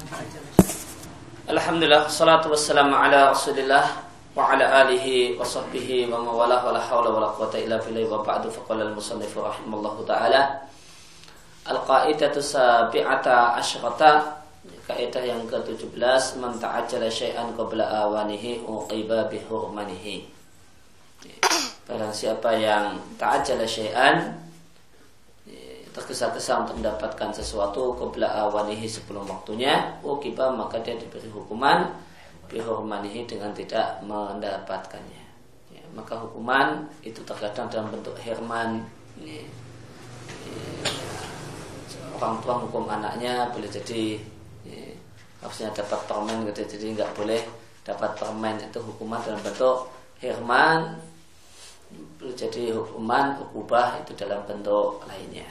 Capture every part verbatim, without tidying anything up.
Alhamdulillah, salatu wassalamu ala rasulillah wa ala alihi wa sahbihi wa mawalah wa la hawla wa la quwata illa billahi wa ba'du. Faqala al-musannifu rahimallahu ta'ala al-qa'idatu sabi'ata asyrata, kaidah yang ke tujuh belas, man ta'ajjala syai'an qabla awanihi uqiba bi hurmanihi. Barang siapa yang ta'ajjala syai'an, tergesa-gesa untuk mendapatkan sesuatu qabla awanihi, sebelum waktunya, uqiba maka dia diberi hukuman bi hurmanihi, dengan tidak mendapatkannya. Ya, maka hukuman itu terkadang dalam bentuk hirman. Ini, ya, orang tua hukum anaknya boleh jadi ya, harusnya dapat permen gitu, jadi nggak boleh dapat permen, itu hukuman dalam bentuk hirman. Boleh jadi hukuman ukubah itu dalam bentuk lainnya.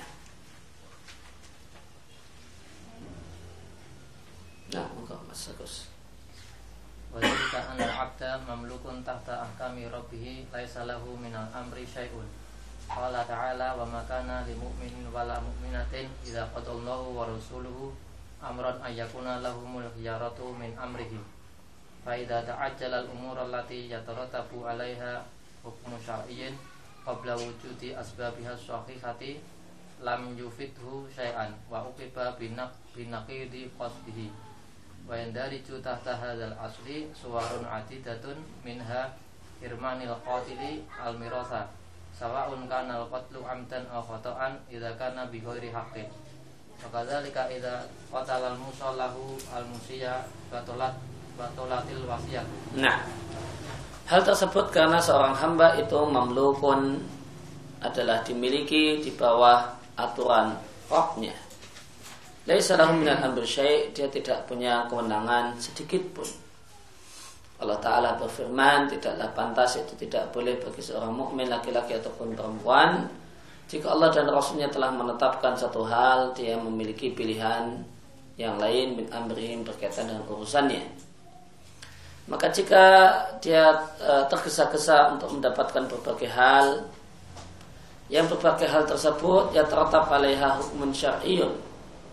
Nah, muka Mas Agus. Wa dzalika anna al-'abda mamlukun tahta ahkami rabbih laisa lahu minal amri syai'un. Qala ta'ala wa ma kana lil mu'minin wala mu'minatin idza qadallahu wa rasuluhu amran ay yakuna lahumul khiyaratu min amrihim. Fa idza ta'ajjala al-umura allati yatarattabu 'alaiha hukmu syar'iyyin qabla wujudi asbabiha sahihati lam yufidhu syai'an wa uqiba binaqidi qasdihi. Wa yandariju tahta hadzal asli suwarun adidatun minha hirmanil qatili al-mirasa sawa'un kana al-qatlu amdan aw khata'an idza kana bi ghairi haqqin. Wa kadzalika idza qatala al-musallahu al-musiya batalat batalatil wasiyah. Nah, hal tersebut karena seorang hamba itu mamlukun, adalah dimiliki di bawah aturan Rabbnya. Laisa lahu minal amri syai', dia tidak punya kewenangan sedikit pun. Allah Ta'ala berfirman, tidaklah pantas, itu tidak boleh bagi seorang mukmin laki-laki ataupun perempuan, jika Allah dan Rasulnya telah menetapkan satu hal, dia memiliki pilihan yang lain min amrihim, berkaitan dengan urusannya. Maka jika dia e, tergesa-gesa untuk mendapatkan berbagai hal, yang berbagai hal tersebut ya terletak alaiha hukmun syar'iyyun,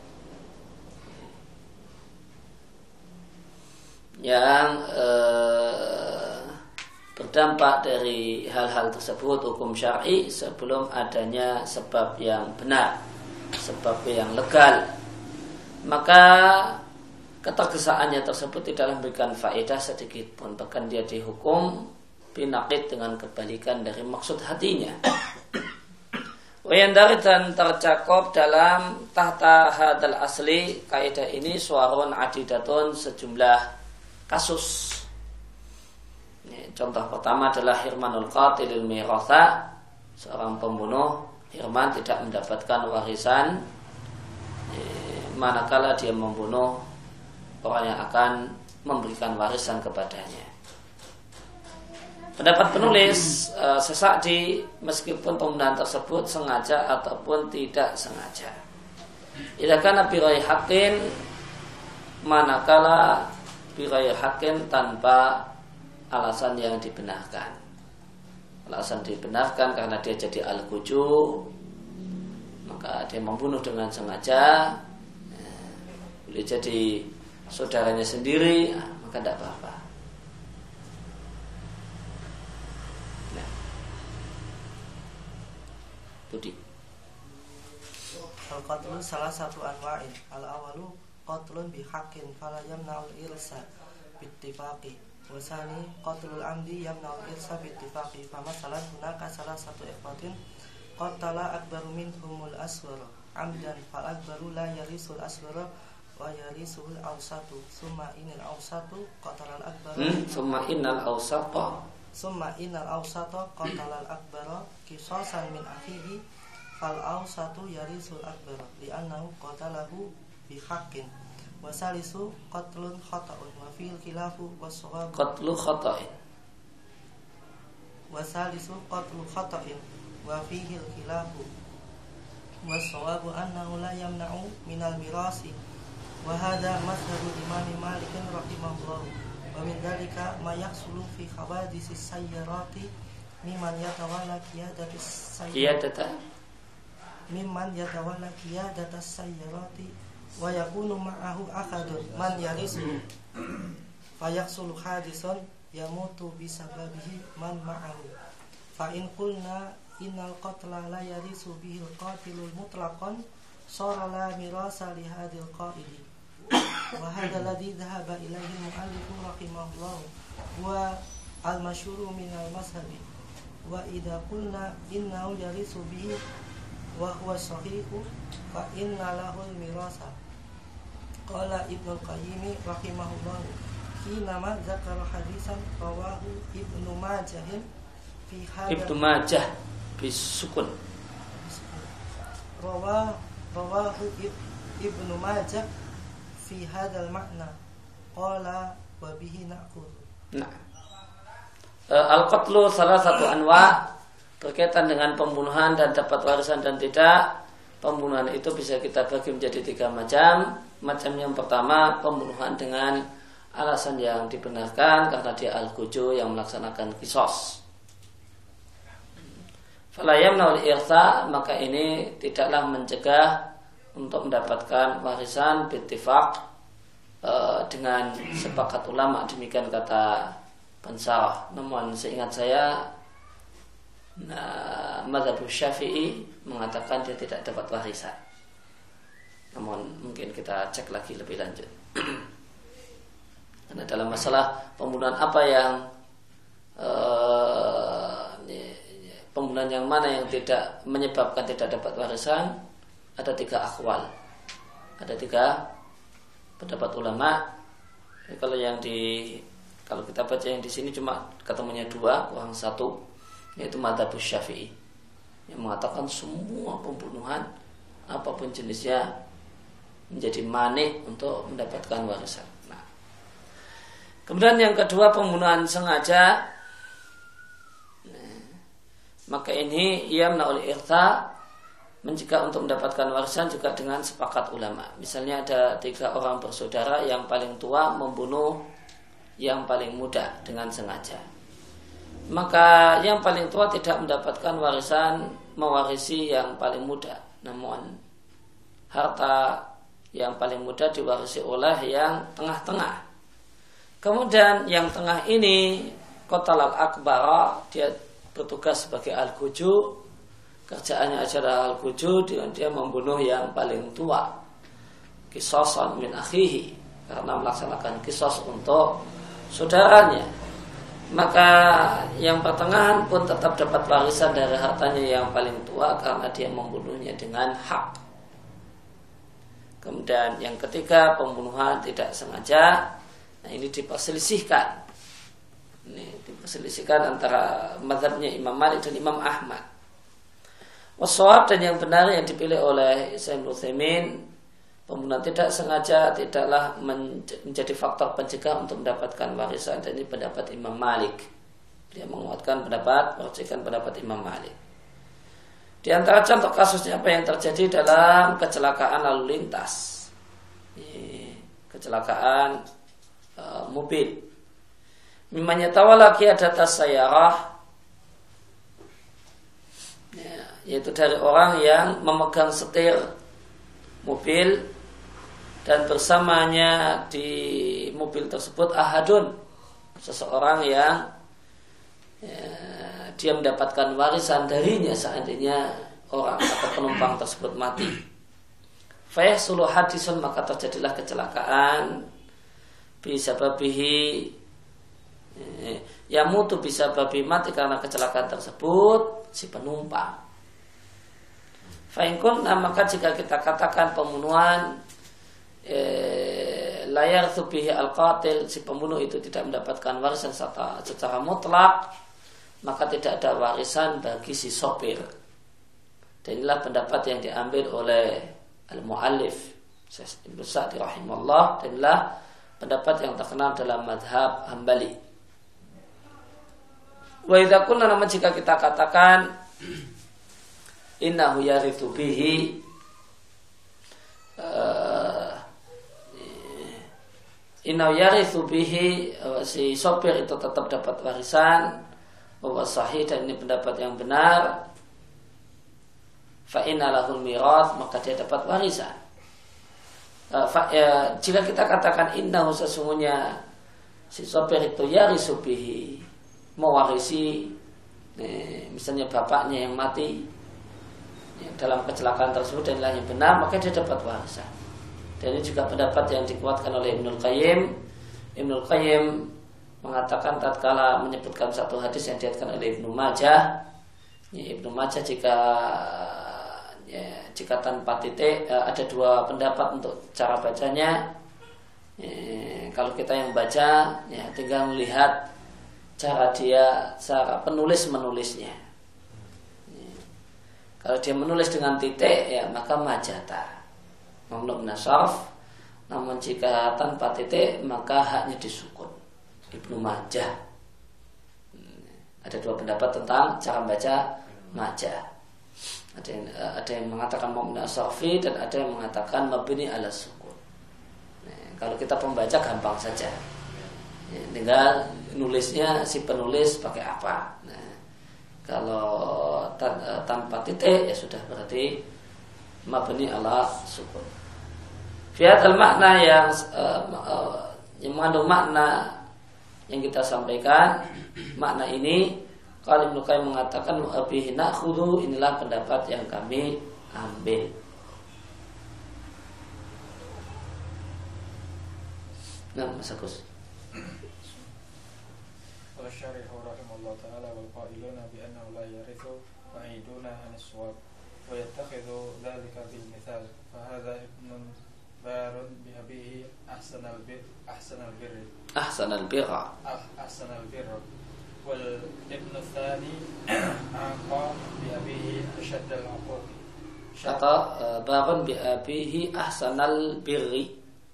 yang eh, berdampak dari hal-hal tersebut hukum syar'i sebelum adanya sebab yang benar, sebab yang legal, maka ketergesaannya tersebut tidaklah memberikan faedah sedikit pun, bahkan dia dihukum binaqid, dengan kebalikan dari maksud hatinya. Wayandari, dan tercakup dalam tahta hadal asli, kaidah ini suarun adidatun, sejumlah kasus. Ini, contoh pertama adalah hirmanul qatilil miratha, seorang pembunuh hirman tidak mendapatkan warisan eh, manakala dia membunuh orang yang akan memberikan warisan kepadanya. Pendapat penulis eh, sesakdi, meskipun pembunuhan tersebut sengaja ataupun tidak sengaja, idza kana bi ghairi haqqin, manakala bighayri haqqin, tanpa alasan yang dibenarkan. Alasan dibenarkan karena dia jadi al-ghuju, maka dia membunuh dengan sengaja, boleh jadi saudaranya sendiri, maka tidak apa-apa. Nah, Budi. Al-qatlu salah satu anwa'in. Al-awalu qatlun bihaqqin fala yamna'ul irsa bittifaqi, wa sani qatlul amdi yamna'ul irsa bittifaqi. Famasalan hunaka salah satu ikhwatin qatala akbaru minhumul aswara amdan fal akbaru la yarisul aswara wa yarisul awsatu summa inal awsatu qatalal akbaru hmm? summa inal awsata summa inal awsata qatalal akbara qisasan min akhihi fal awsatu yarisul akbara li'annahu qatalahu bihaqqin. Wasalisu qatlun khata'un wa fil khilafu was-shawabu qatlu khata'in wasalisu qatlu khata'in wa fihi al-khilafu was-shawabu annahu la yamna'u minal mirasi wa hadha mazhabu Imam Malik rahimahullah. Wa min dhalika ma yahsulu fi khawadisi sayyarati mimman yatawalla qiyadatis sayyarati mimman yatawalla qiyadatis sayyarati wa yakunu ma'ahu akhadun man yarisu fayaksulu hadisun yamutu bisababihi man ma'ahu fa in qulna innal qatla la yarisu bihil qatilul mutlaqan sara la mirasa li hadil qaidi wa hadha alladhi dhahaba ilaihi mu'allifu rahimahullah wa al-masyhuru min al-mazhabi wa idza qulna innahu yarisu bihi wa huwa sahihu fa inna lahu al-mirasa. Qala Ibnu Qayyim rahimahullah hinama zakara hadisan rawahu Ibnu Majah fi hadha Ibnu Majah bisukun rawah rawahu Ibnu Majah fi hadzal makna qala wa bihi na'khudh. Nah, al-qatlu salah satu anwa berkaitan dengan pembunuhan dan dapat warisan dan tidak. Pembunuhan itu bisa kita bagi menjadi tiga macam. Macam yang pertama, pembunuhan dengan alasan yang dibenarkan karena dia al-guju yang melaksanakan qisas. Fala yamna'ul irtha, maka ini tidaklah mencegah untuk mendapatkan warisan bittifaq e, dengan sepakat ulama, demikian kata Pensarah. Namun seingat saya nah, mazhab Syafi'i mengatakan dia tidak dapat warisan. Namun mungkin kita cek lagi lebih lanjut. Karena dalam masalah pembunuhan apa yang uh, pembunuhan yang mana yang tidak menyebabkan tidak dapat warisan, ada tiga akwal, ada tiga pendapat ulama. Jadi kalau yang di kalau kita baca yang di sini cuma ketemunya dua, kurang satu, yaitu mazhab Syafi'i yang mengatakan semua pembunuhan apapun jenisnya menjadi manik untuk mendapatkan warisan. Nah, kemudian yang kedua pembunuhan sengaja, nah, maka ini ia menolak irta, mencegah untuk mendapatkan warisan juga dengan sepakat ulama. Misalnya ada tiga orang bersaudara, yang paling tua membunuh yang paling muda dengan sengaja, maka yang paling tua tidak mendapatkan warisan mewarisi yang paling muda, namun harta yang paling muda diwarisi oleh yang tengah-tengah. Kemudian yang tengah ini qatal al-akbara, dia bertugas sebagai al-guju, kerjaannya adalah al-guju, dengan dia membunuh yang paling tua, qisasan min akhihi, karena melaksanakan qisas untuk saudaranya. Maka yang pertengahan pun tetap dapat warisan dari hartanya yang paling tua karena dia membunuhnya dengan hak. Kemudian yang ketiga pembunuhan tidak sengaja. Nah, ini diperselisihkan. Ini diperselisihkan antara mazhabnya Imam Malik dan Imam Ahmad. Wasawab, dan yang benar yang dipilih oleh Syekh Utsaimin, pembunuhan tidak sengaja tidaklah menjadi faktor pencegah untuk mendapatkan warisan. Dan ini pendapat Imam Malik. Dia menguatkan pendapat, merujukkan pendapat Imam Malik. Di antara contoh kasusnya apa yang terjadi dalam kecelakaan lalu lintas, kecelakaan e, mobil. Mimanya tawalaki ada tasayyarah, ya, yaitu dari orang yang memegang setir mobil dan bersamanya di mobil tersebut ahadun, seseorang yang ya, dia mendapatkan warisan darinya seandainya orang atau penumpang tersebut mati. Fayahsulu hadisun, maka terjadilah kecelakaan bisa babihi, yamutu bisa babi, mati karena kecelakaan tersebut si penumpang. Fainkun, nah maka jika kita katakan pembunuhan eh, layar tubihi al-qatil, si pembunuh itu tidak mendapatkan warisan secara, secara mutlak, maka tidak ada warisan bagi si sopir. Dan inilah pendapat yang diambil oleh al-mu'allif Ibnu Sa'di rahimahullah, dan inilah pendapat yang terkenal dalam madhab Hambali. Wa idza kunna, namun jika kita katakan innahu yarithu bihi, uh, innahu yarithu bihi, uh, si sopir itu tetap dapat warisan, bahwa sahih, dan ini pendapat yang benar, fa inna lahul mirath, maka dia dapat warisan. uh, fa, ya, jika kita katakan innahu sesungguhnya si sopir itu yarisu bihi, mewarisi eh, misalnya bapaknya yang mati ya, dalam kecelakaan tersebut dan lainnya benar, maka dia dapat warisan. Dan ini juga pendapat yang dikuatkan oleh Ibnul Qayyim. Ibnul Qayyim mengatakan tatkala menyebutkan satu hadis yang diriwayatkan oleh Ibnu Majah, ya, Ibnu Majah jika ya, jika tanpa titik ada dua pendapat untuk cara bacanya. Ya, kalau kita yang baca ya tinggal melihat cara dia, cara penulis menulisnya. Ya, kalau dia menulis dengan titik ya maka majata, mamnu min as-sarf. Namun jika tanpa titik maka haknya disukun. Ibnu Majah. Ada dua pendapat tentang cara baca majah. Ada yang, ada yang mengatakan mamnu as-sarfi dan ada yang mengatakan mabni ala sukun. Nah, kalau kita pembaca gampang saja. Ya, tinggal nulisnya si penulis pakai apa. Nah, kalau tan, tanpa titik ya sudah berarti mabni ala sukun. Fiat al-makna yang uh, uh, yang mengandung makna yang kita sampaikan, makna ini kalau Ibnu Qayyim mengatakan abihi na'khudhu, inilah pendapat yang kami ambil. Nah, Mas Agus. Wa syarihu rahimallahu ta'ala wal qailuna bi annahu la yarithu ba'iduna an as-shawab wa yattakhidhu dhalika bil mithal fa hadha ibnun barun bi abihi ahsanal bir ahsanal birri ahsanal birra ahsanal birra wal ibnu tsani aqa bi abihi ashaddal uquq. Kata barun bi abihi ahsanal birri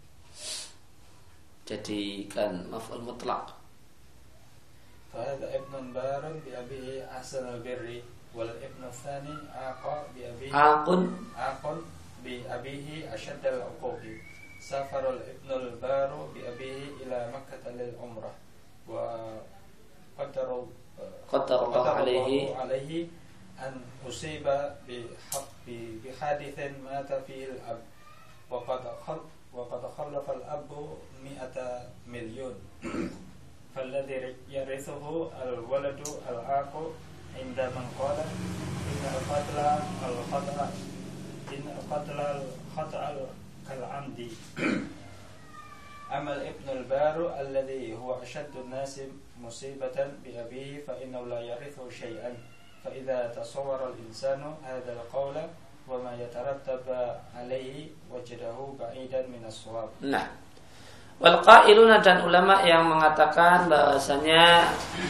jadikan maf'ul mutlaq. Fa hadha ibnun barun bi abihi ahsanal birri wal ibnu tsani aqa bi abihi aqun aqun bi abihi ashaddal uquqi. Safarul ibnul baru bi abihi ila Makkah lil umrah wa qaddaru qaddarallahu alaihi alaihi an usiba bi habbi bi hadithin mata fihi al ab wa qad khal wa qad khallafa al abu mi'ata milyun falladhi yarithuhu al waladu al aqu inda man qala inna al qatla al khata in qatla al-khata' kal-'amdi. Amal ibn al-baru alladhi huwa ashaddu an-nasi musibatan bi abihi fa innahu la yarithu shay'an. Fa idza tasawwara al-insanu hadha al-qawla wa ma yatarattab alayhi wajadahu ba'idan min as-shawab. Nah, wal qailuna dan ulama yang mengatakan bahasanya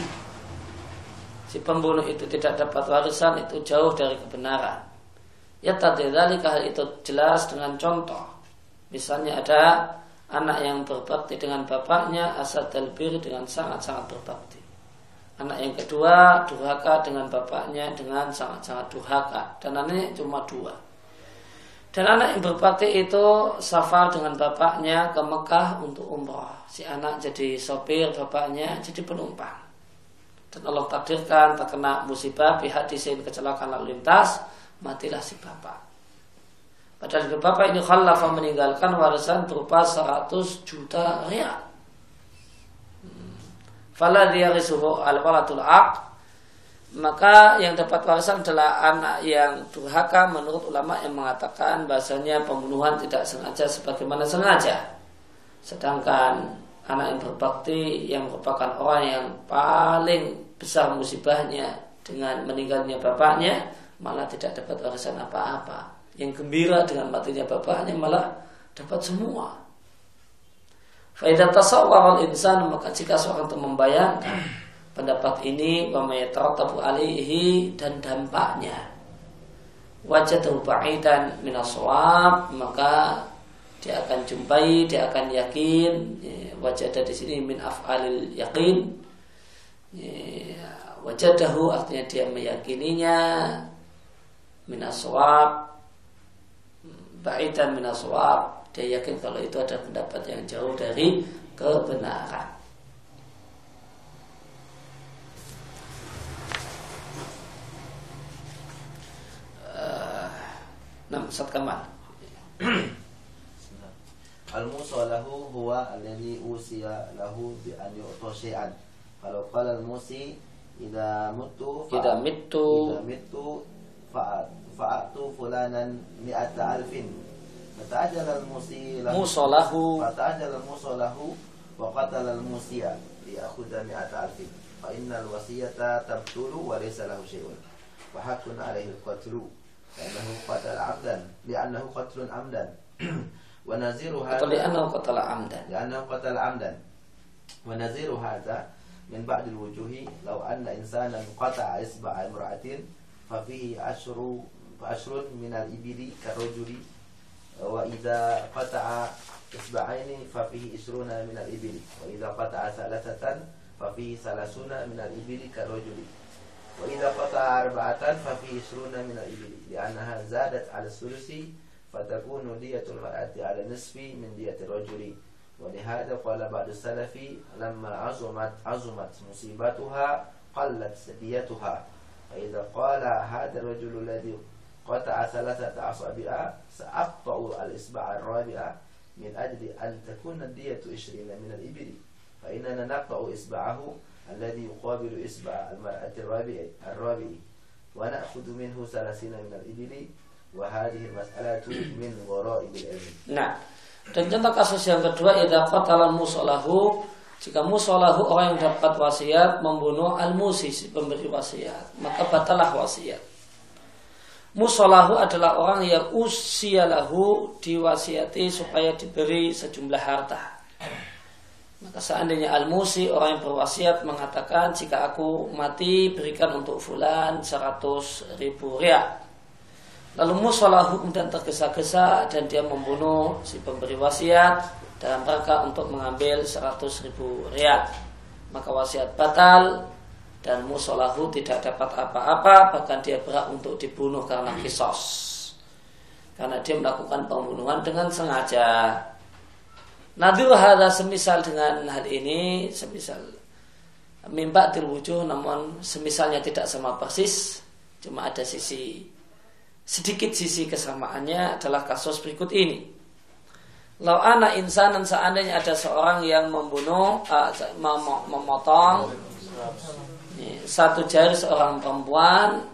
si pembunuh itu tidak dapat warisan itu jauh dari kebenaran. Ya tadilali hal itu jelas dengan contoh. Misalnya ada anak yang berbakti dengan bapaknya asadal bir dengan sangat-sangat berbakti. Anak yang kedua durhaka dengan bapaknya dengan sangat-sangat durhaka. Dan anaknya cuma dua. Dan anak yang berbakti itu safar dengan bapaknya ke Mekah untuk umrah. Si anak jadi sopir, bapaknya jadi penumpang. Dan Allah takdirkan terkena musibah pihak disin kecelakaan lalu lintas, matilah si bapak. Padahal si bapak ini khalafa meninggalkan warisan berupa seratus juta rial. Fala yarisuhu al-walatul aq, maka yang dapat warisan adalah anak yang durhaka menurut ulama yang mengatakan bahasanya pembunuhan tidak sengaja sebagaimana sengaja. Sedangkan anak yang berbakti yang merupakan orang yang paling besar musibahnya dengan meninggalnya bapaknya malah tidak dapat warisan apa-apa. Yang gembira dengan matinya bapaknya malah dapat semua. Faidah tasawwar al-insan, maka jika seorang itu membayangkan pendapat ini wa mayatarattabu alaihi dan dampaknya wajadahu ba'idan min as-shawab, maka dia akan jumpai, dia akan yakin. Wajadah di sini min af'alil yaqin. Wajadahu artinya dia meyakininya min as-shawab, ba'idan min as-shawab. Dia yakin kalau itu ada pendapat yang jauh dari kebenaran. Uh, Nah, Ustaz Kamal. al-musalahu huwa alladhi usiya lahu bi an yu'ta syai'an. Kalau qala al-musi idza mutu idza mittu idza mittu fa'atu fulanan mi'ata alfin. Fata'ajjala al-musi lahu musalahu fata'ajjala al-musalahu wa qatala al-musiya liyakhudha mi'ata alfin. Fa innal wasiyata tabtulu wa laysa lahu syai'un. Wa haqqun 'alaihi al-qatlu li'annahu qatala 'amdan li'annahu qatlun 'amdan. Wa naziru hadha li'annahu qatala 'amdan li'annahu qatala 'amdan. Wa naziru hadha min ba'd al-wujuhi law anna insanan qata'a isba'a imra'atin fa fihi ashru fa ashrun min al-ibili karajuli wa idza qata'a isba'aini fa fihi ishruna min al-ibili wa idza qata'a thalathatan fa fihi salasuna min al-ibili karajuli wa idza qata'a arba'atan fa fihi ishruna min al-ibili li'annaha zadat 'ala as-sulusi fatakunu diyatul mar'ati 'ala nisfi min diyati rajuli. ولهذا قال بعض السلف لما عظمت عظمت مصيبتها قلت ديتها. فإذا قال هذا الرجل الذي قطع ثلاثة أصابع سأقطع الإصبع الرابع من أجل أن تكون الدية عشرين من الإبل فإننا نقطع إصبعه الذي يقابل إصبع المرأة الرابع الرابع ونأخذ منه ثلاثين من الإبل وهذه المسألة من غرائب العلم. Nah, dan contoh kasus yang kedua, idza qatala musalahu, jika musalahu orang yang dapat wasiat membunuh al-musi, si pemberi wasiat, maka batalah wasiat. Musalahu adalah orang yang usialahu diwasiati supaya diberi sejumlah harta. Maka seandainya al-musi orang yang berwasiat mengatakan jika aku mati berikan untuk fulan seratus ribu rial. Lalu musalahu kemudian tergesa-gesa dan dia membunuh si pemberi wasiat dalam rangka untuk mengambil seratus ribu rial. Maka wasiat batal dan musalahu tidak dapat apa-apa, bahkan dia berhak untuk dibunuh karena kisos, karena dia melakukan pembunuhan dengan sengaja. Nadhir hadza, semisal dengan hal ini, semisal mimba tilwujuh, namun semisalnya tidak sama persis, cuma ada sisi sedikit sisi kesamaannya adalah kasus berikut ini. Lau ana insanan, seandainya ada seorang yang membunuh uh, mem- memotong ini, satu jari seorang perempuan,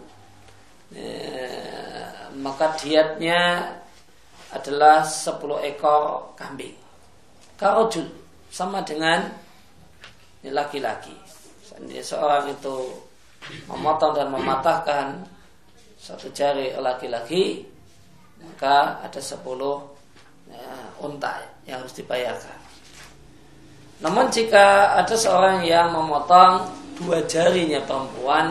eh, maka diatnya adalah sepuluh ekor kambing. Karojul, sama dengan ini laki-laki. Seorang itu memotong dan mematahkan satu jari laki-laki, maka ada sepuluh ya, unta yang harus dibayarkan. Namun jika ada seorang yang memotong dua jarinya perempuan,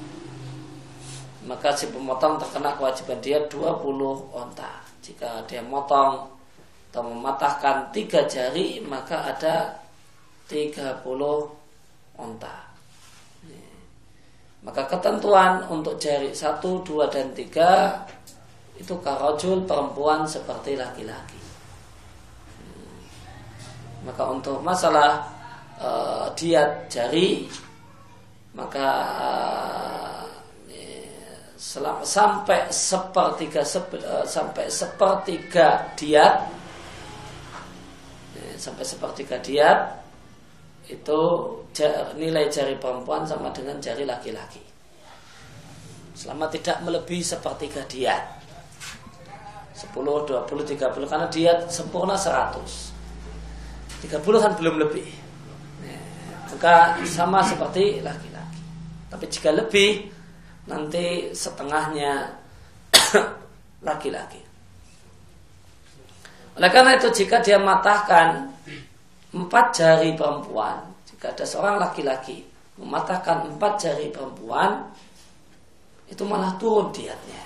maka si pemotong terkena kewajiban dia dua puluh unta. Jika dia memotong atau mematahkan tiga jari, maka ada tiga puluh unta. Maka ketentuan untuk jari satu, dua, dan tiga itu karojul, perempuan seperti laki-laki. Maka untuk masalah e, diat jari, maka e, selam, sampai sepertiga sep, e, sampai sepertiga diat, e, sampai sepertiga diat itu nilai jari perempuan sama dengan jari laki-laki, selama tidak melebihi sepertiga diat, sepuluh, dua puluh, tiga puluh, karena diat sempurna seratus, tiga puluh kan belum lebih, maka sama seperti laki-laki. Tapi jika lebih, nanti setengahnya laki-laki. Oleh karena itu, jika dia matahkan empat jari perempuan, jika ada seorang laki-laki mematahkan empat jari perempuan, itu malah turun diatnya.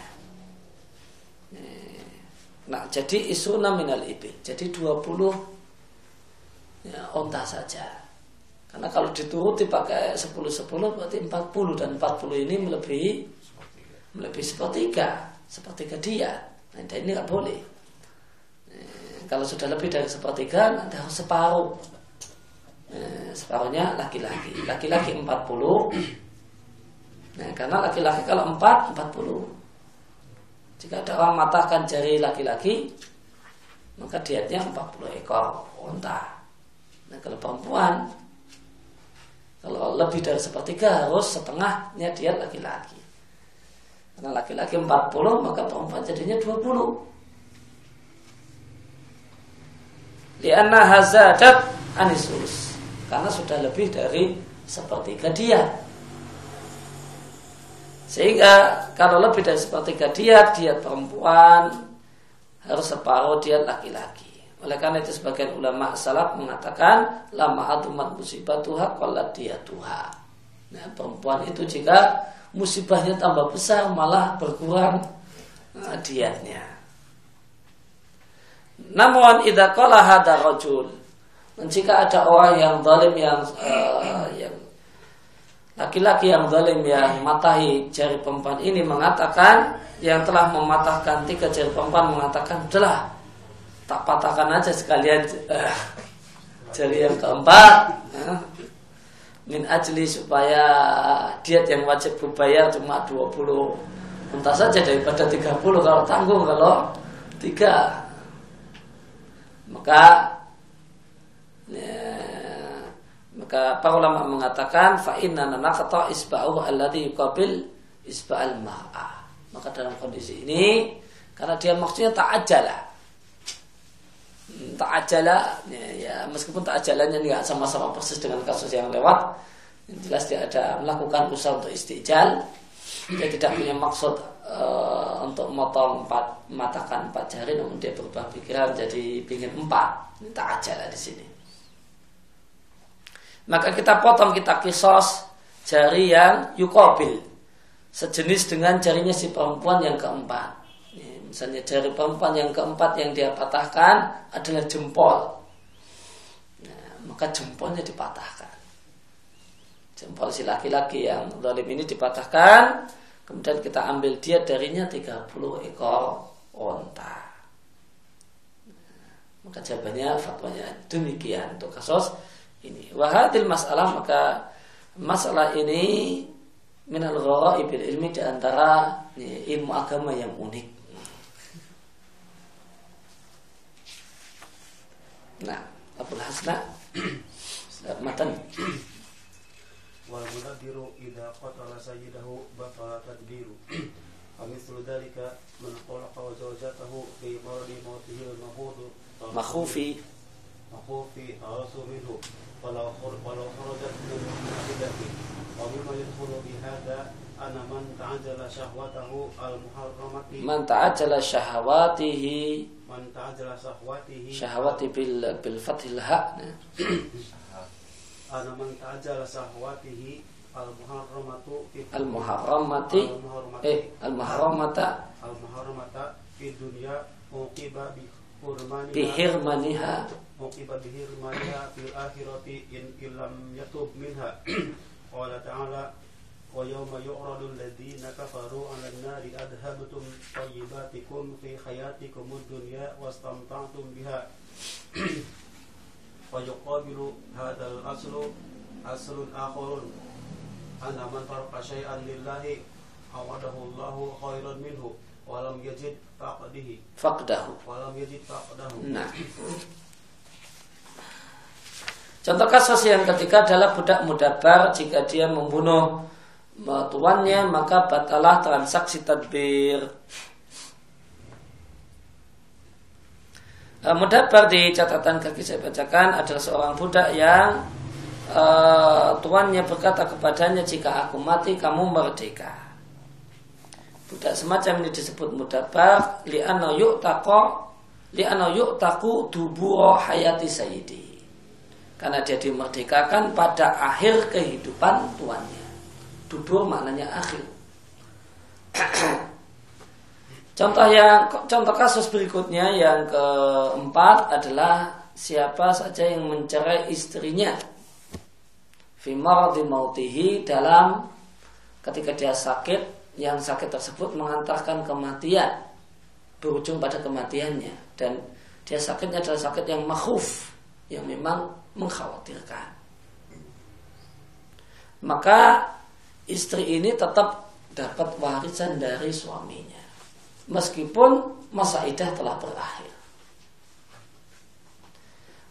Nah, jadi isuna minal ibil, jadi dua puluh ya, onta saja. Karena kalau dituruti pakai sepuluh sepuluh berarti empat puluh, dan empat puluh ini melebihi melebihi sepertiga, sepertiga diat. Nah, ini nggak boleh. Kalau sudah lebih dari sepertiga, nanti harus separuh. Nah, separuhnya laki-laki. Laki-laki empat puluh. Nah, karena laki-laki kalau empat, empat puluh. Jika ada orang matahkan jari laki-laki, maka dietnya empat puluh ekor unta. Nah kalau perempuan, kalau lebih dari sepertiga harus setengahnya diet laki-laki. Karena laki-laki empat puluh, maka perempuan jadinya dua puluh. Lianna hazadat anisus, karena sudah lebih dari sepertiga diet. Sehingga kalau lebih dari sepertiga diet, diet perempuan harus separuh diet laki-laki. Oleh karena itu sebagian ulama salaf mengatakan lama atumat musibatuha qallat diyatuha. Nah, perempuan itu jika musibahnya tambah besar malah berkurang nah, dietnya. Namun idza qala hadza rajul, jika ada orang yang zalim yang uh, yang laki-laki yang zalim yang matahi jari perempuan ini mengatakan, yang telah mematahkan tiga jari perempuan mengatakan, udahlah tak patahkan aja sekalian uh, jari yang keempat uh, min ajli supaya diet yang wajib berbayar cuma dua puluh unta saja daripada tiga puluh kalau tanggung kalau tiga. Maka ya, maka para ulama mengatakan fa inna naqata isba'u alladhi yuqabil isba'al mar'ah. Maka dalam kondisi ini karena dia maksudnya ta'ajjala. Ta'ajjala ya, ya meskipun ta'ajjalannya enggak sama-sama persis dengan kasus yang lewat, yang jelas dia ada melakukan usaha untuk istijal. Dia tidak punya maksud uh, untuk motong empat, matakan empat jari, namun dia berubah pikiran jadi pingin empat. Ini ta'ajjala di sini. Maka kita potong, kita kisos jari yang yuqabil, sejenis dengan jarinya si perempuan yang keempat. Misalnya jari perempuan yang keempat yang dia patahkan adalah jempol. Nah, maka jempolnya dipatahkan. Jempol si laki-laki yang zalim ini dipatahkan. Kemudian kita ambil dia darinya tiga puluh ekor unta. Nah, maka jawabannya fatwanya demikian untuk kasus ini. Wahadil masalah, maka masalah ini minal ghara'ibil ilmi, di antara ilmu agama yang unik. Nah, Abul Hasna matan wal munadiru idza qatala sayyidahu batala tadbiru amithlu dzalika man khalaqa wa zawjatahu fi maradi mautihi al-mahud makhufi makhufi ta'asu minhu walau walau kharajat min mahidati wa mimma yadkhulu bi hadha ana man ta'ajjala syahwatahu al-muharramati man ta'ajjala syahawatihi man ta'ajjala syahwatihi syahwati bil bil fathil ha ana man ta'ajjala syahwatihi al-muharramatu al muharramati eh al muharramata al muharramata fi dunya uqiba bi hurmaniha bi hirmaniha uqiba bi hirmaniha fil akhirati in illam yatub minha qala ta'ala wa yawma yu'radu alladhina kafaru 'alan nari adhabtum tayyibatikum fi hayatikum ad-dunya wastamta'tum biha wa yuqabilu hadzal aslu aslun akharun anna man taraka syai'an lillahi awadahu Allahu khairan minhu wa lam yajid faqdihi faqdahu wa lam yajid faqdahu. Nah, contoh kasus yang ketiga adalah budak mudabar. Jika dia membunuh tuannya maka batalah transaksi tadbir. uh, Mudabar di catatan kaki saya bacakan adalah seorang budak yang uh, tuannya berkata kepadanya, jika aku mati kamu merdeka. Budak semacam ini disebut mudabar li'anna yu'taqa li'anna yu'taqu dubura hayati sayyidi, karena dia dimerdekakan pada akhir kehidupan tuannya. Dubur maknanya akhir. Contoh yang contoh kasus berikutnya yang keempat adalah siapa saja yang mencerai istrinya fi maradi mautihi, dalam ketika dia sakit, yang sakit tersebut mengantarkan kematian, berujung pada kematiannya, dan dia sakitnya adalah sakit yang makhuf, yang memang mengkhawatirkan. Maka istri ini tetap dapat warisan dari suaminya meskipun masa iddah telah berakhir.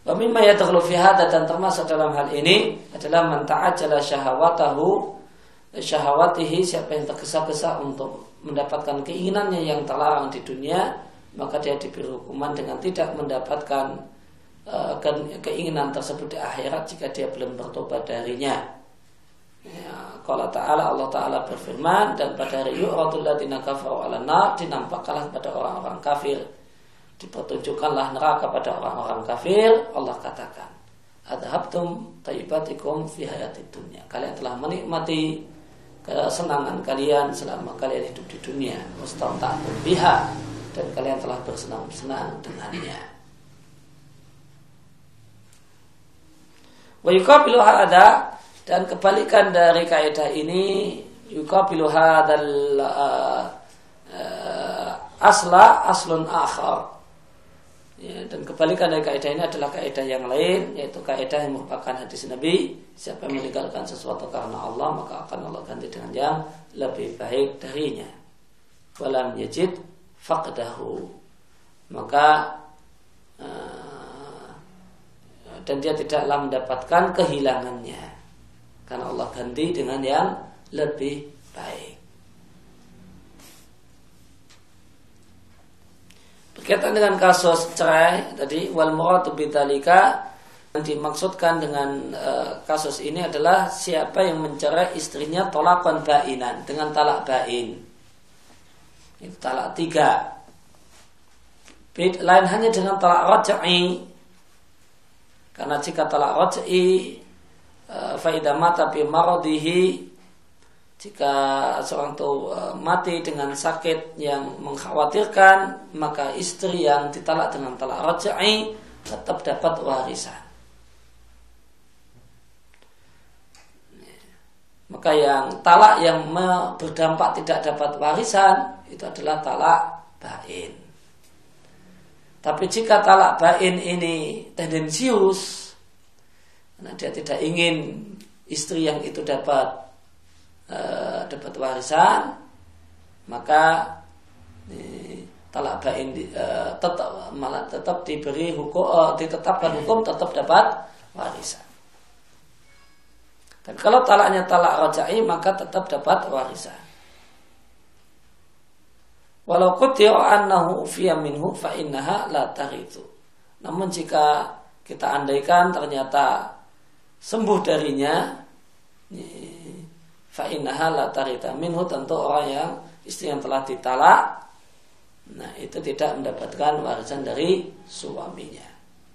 Wa mimma yadkhulu fi hadza, dan termasuk dalam hal ini adalah man ta'ajjala syahawatahu syahawatihi, siapa yang tergesa-gesa untuk mendapatkan keinginannya yang terlarang di dunia, maka dia diberi hukuman dengan tidak mendapatkan uh, keinginan tersebut di akhirat jika dia belum bertobat darinya. Ya, qala ta'ala, Allah Ta'ala berfirman, dan pada hari yu'radul ladzina kafaru 'alan nar, dinampakkanlah kepada orang-orang kafir, dipertunjukkanlah neraka pada orang-orang kafir. Allah katakan, adhabtum tayyibatikum fi hayatid dunya, kalian telah menikmati kesenangan kalian selama kalian hidup di dunia, wastamta'tum biha, dan kalian telah bersenang-senang dengannya. Wa yuqabilu hadza, dan kebalikan dari kaidah ini, yuqabilu hadzal uh, uh, asla aslun akhar. Ya, dan kebalikan dari kaidah ini adalah kaidah yang lain, yaitu kaidah yang merupakan hadis Nabi, siapa yang meninggalkan sesuatu karena Allah, maka akan Allah ganti dengan yang lebih baik darinya. Walam yajid faqdahu, maka uh, dan dia tidaklah mendapatkan kehilangannya, karena Allah ganti dengan yang lebih baik. Berkaitan dengan kasus cerai tadi, wal muradu bidzalika, yang dimaksudkan dengan e, kasus ini adalah siapa yang mencerai istrinya tolakon ba'inan, dengan talak ba'in, itu talak tiga. Lain hanya dengan talak raj'i, karena jika talak raj'i e, fa idza mata bi maradihi, jika seorang itu mati dengan sakit yang mengkhawatirkan, maka istri yang ditalak dengan talak raj'i tetap dapat warisan. Maka yang talak yang berdampak tidak dapat warisan itu adalah talak ba'in. Tapi jika talak ba'in ini tendensius, karena dia tidak ingin istri yang itu dapat Uh, dapat warisan, maka eh, talak ba'in uh, tetap malah tetap diberi hukum, uh, ditetapkan hukum tetap dapat warisan. Dan kalau talaknya talak raj'i, maka tetap dapat warisan. Walau qutira annahu ufiya minhu fa innaha la tarithu. Namun jika kita andaikan ternyata sembuh darinya, eh, fa innaha la tarita minhu, tentu orang yang istri yang telah ditalak, nah itu tidak mendapatkan warisan dari suaminya.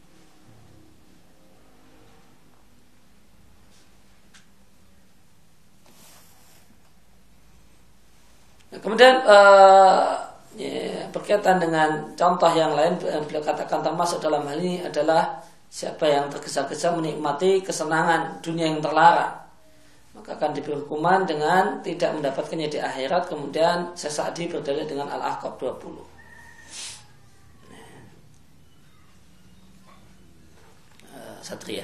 Nah, kemudian uh, ya, berkaitan dengan contoh yang lain, beliau katakan termasuk dalam hal ini adalah siapa yang tergesa-gesa menikmati kesenangan dunia yang terlarang, maka akan diberi hukuman dengan tidak mendapatkannya di akhirat. Kemudian Sesadi berdalil dengan Al-Ahqaf dua puluh. uh, Satria.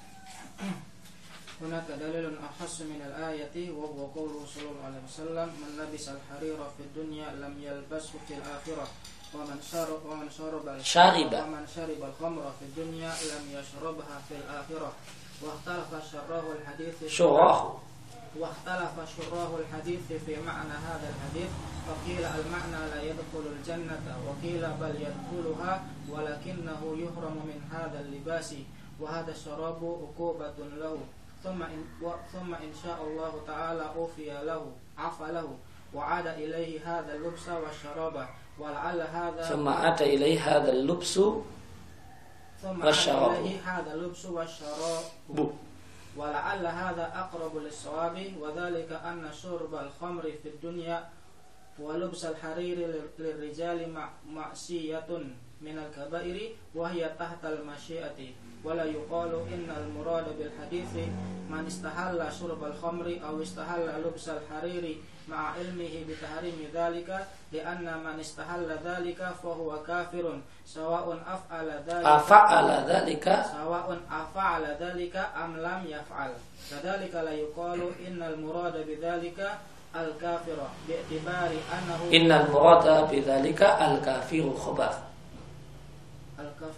Hunaka dalilun akhassu min al-ayati wa huwa qawluhu sallallahu alaihi wasallam, man labisa al-harira fid dunya lam yalbashu fil akhirah, wa man shariba wa man shariba shariba wa man shariba al-khamra fid dunya lam yashrabha fil akhirah. واختلف شراه الحديث شراه واختلف شراه الحديث في معنى هذا الحديث، فقيل المعنى لا يدخل الجنة، وقيل بل يدخلها ولكنه يحرم من هذا اللباس، وهذا الشراب عقوبة له، ثم إن ثم إن شاء الله تعالى أوفي له عفى له وعاد إليه هذا اللبس والشراب، ولعل هذا ثم عاد إليه هذا اللبس والشراب هذا اللبس والشراب ولعل هذا أقرب للصواب، وذلك أن شرب الخمر في الدنيا ولبس الحرير للرجال معصية من الكبائر وهي تحت المشيئة، ولا يقال إن المراد بالحديث من استحل شرب الخمر أو استحل لبس الحرير مع علمه بتحريم ذلك، لأن من استحل ذلك فهو كافر سواء أفعل ذلك أفعل ذلك سواء أفعل ذلك أم لم يفعل. كذلك لا يقال إن المراد بذلك الكافر باعتبار أنه إن المراد بذلك الكافر خبر الكافر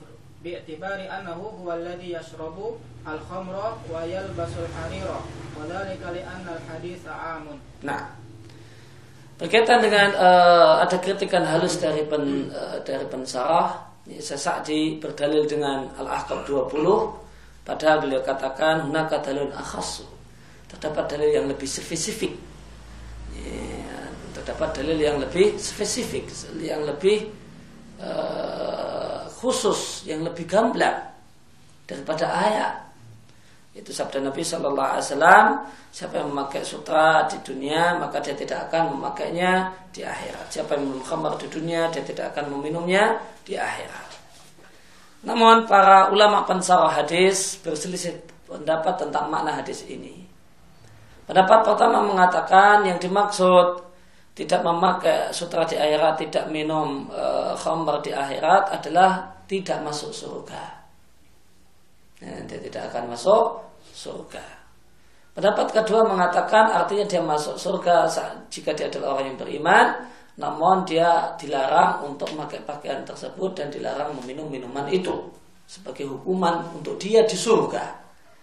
bi'tibari annahu huwa alladhi yashrabu al-khamra wa yalbasul harira wa dhalika li anna al-haditsa 'amun. Nah, berkaitan dengan uh, ada kritikan halus dari pen, uh, dari pensarah Sa'di berdalil dengan Al-Ahqaf dua puluh, padahal beliau katakan hunaka dalilun akhassu, terdapat dalil yang lebih spesifik, ya, terdapat dalil yang lebih spesifik, yang lebih uh, khusus, yang lebih gamblang daripada ayat. Itu sabda Nabi Shallallahu Alaihi Wasallam, siapa yang memakai sutra di dunia maka dia tidak akan memakainya di akhirat. Siapa yang minum khamar di dunia dia tidak akan meminumnya di akhirat. Namun para ulama pensarah hadis berselisih pendapat tentang makna hadis ini. Pendapat pertama mengatakan yang dimaksud tidak memakai sutra di akhirat, tidak minum e, khamar di akhirat adalah tidak masuk surga. Nah, dia tidak akan masuk surga. Pendapat kedua mengatakan artinya dia masuk surga jika dia adalah orang yang beriman, namun dia dilarang untuk memakai pakaian tersebut dan dilarang meminum minuman itu sebagai hukuman untuk dia di surga.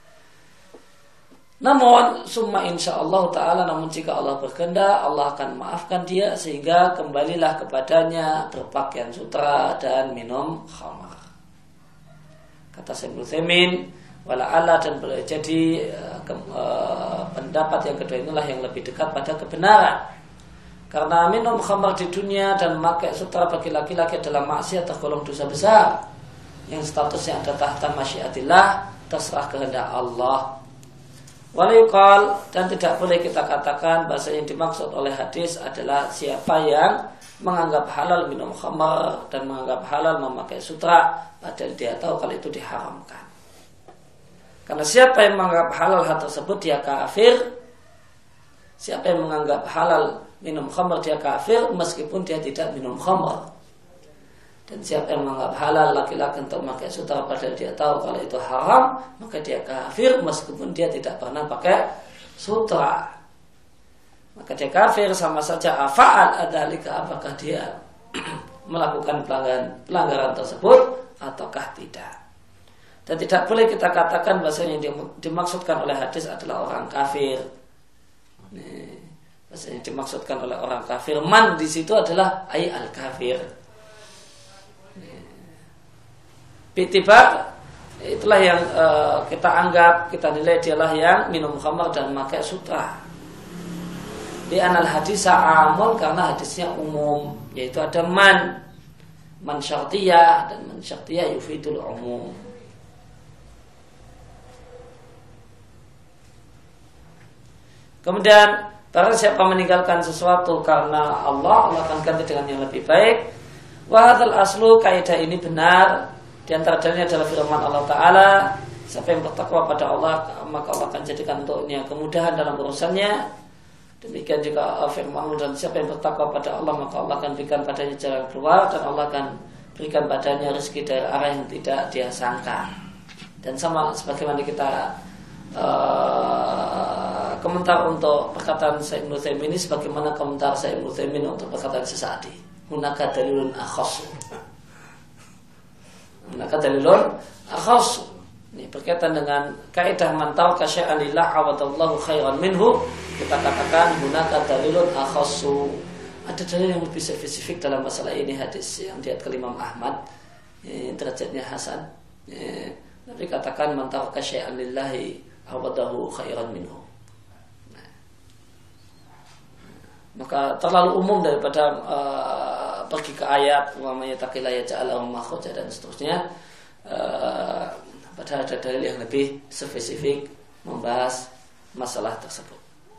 Namun summa insyaallah ta'ala, namun jika Allah berkehendak, Allah akan maafkan dia sehingga kembalilah kepadanya berpakaian sutra dan minum khamar. Kata Syekh Utsaimin, wala'alla, dan boleh jadi uh, ke, uh, pendapat yang kedua inilah yang lebih dekat pada kebenaran. Karena minum khamar di dunia dan memakai sutra bagi laki-laki adalah maksiat, tergolong dosa besar yang statusnya ada tahta masyiatillah, terserah kehendak Allah. Walayuqal, dan tidak boleh kita katakan bahasa yang dimaksud oleh hadis adalah siapa yang menganggap halal minum khamar dan menganggap halal memakai sutra, padahal dia tahu kalau itu diharamkan. Karena siapa yang menganggap halal hal tersebut dia kafir. Siapa yang menganggap halal minum khamar dia kafir meskipun dia tidak minum khamar. Dan siapa yang menganggap halal laki-laki untuk memakai sutra padahal dia tahu kalau itu haram, maka dia kafir meskipun dia tidak pernah pakai sutra. Maka dia kafir sama saja afa'al adalika, apakah dia melakukan pelanggaran, pelanggaran tersebut ataukah tidak. Dan tidak boleh kita katakan bahasanya yang dimaksudkan oleh hadis adalah orang kafir. Nih, bahasanya yang dimaksudkan oleh orang kafir, man di situ adalah ay al kafir. Bitibar, itulah yang uh, kita anggap, kita nilai dialah yang minum khamar dan memakai sutra. Di anal hadis sa'amul, karena hadisnya umum, yaitu ada man, man syartiyah, dan man syartiyah yufidul umum. Kemudian barang siapa meninggalkan sesuatu karena Allah, Allah akan ganti dengan yang lebih baik. Wa hadzal aslu, kaidah ini benar. Di antara dalilnya adalah firman Allah Ta'ala, siapa yang bertakwa pada Allah maka Allah akan jadikan untuknya kemudahan dalam urusannya. Demikian juga firman Allah, dan siapa yang bertakwa pada Allah maka Allah akan berikan padanya jalan keluar, dan Allah akan berikan padanya rezeki dari arah yang tidak dia sangka. Dan sama sebagaimana kita uh, komentar untuk perkataan Syekh Ibnu Utsaimin ini, sebagaimana komentar Syekh Ibnu Utsaimin untuk perkataan Sa'di, hunaka dalilun akhassu. Hunaka dalilun akhassu. Ini berkaitan dengan kaidah man taraka syai'an lillah awadallahu khairan minhu, kita katakan hunaka dalilun akhassu. Ada dalil yang lebih spesifik dalam masalah ini, hadis yang diriwayatkan Imam Ahmad, ya, derajatnya hasan. Ya, tapi katakan man taraka syai'an lillahi awadahu khairan minhu. Nah, maka terlalu umum daripada uh, pergi ke ayat umpamanya taqillaha ja'alahu makhraja dan seterusnya. Uh, padahal ada dalil yang lebih spesifik membahas masalah tersebut.